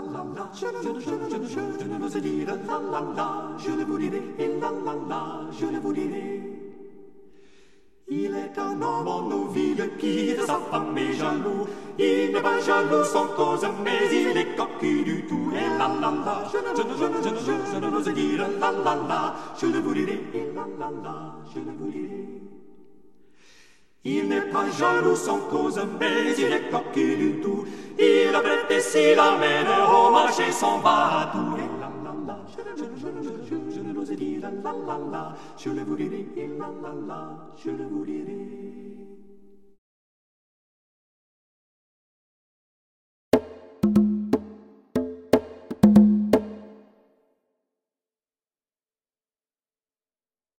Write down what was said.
la la, je ne l'ose dire la la la, je le vous dirai, et la la la, je le vous dirai. Il est un homme en nos villes qui de sa femme est jaloux. Il n'est pas jaloux sans cause, mais il est cocu du tout. Et la la la, je ne l'ose dire la la la, je le vous dirai, et la la la, je le vous dirai. Il n'est pas jaloux sans cause, mais il est cocu du tout. Il a prêté s'il amène au marché son bateau. Et la la la, je ne l'ose dire la la la, je le vous dirai, et la la la, je le vous dirai.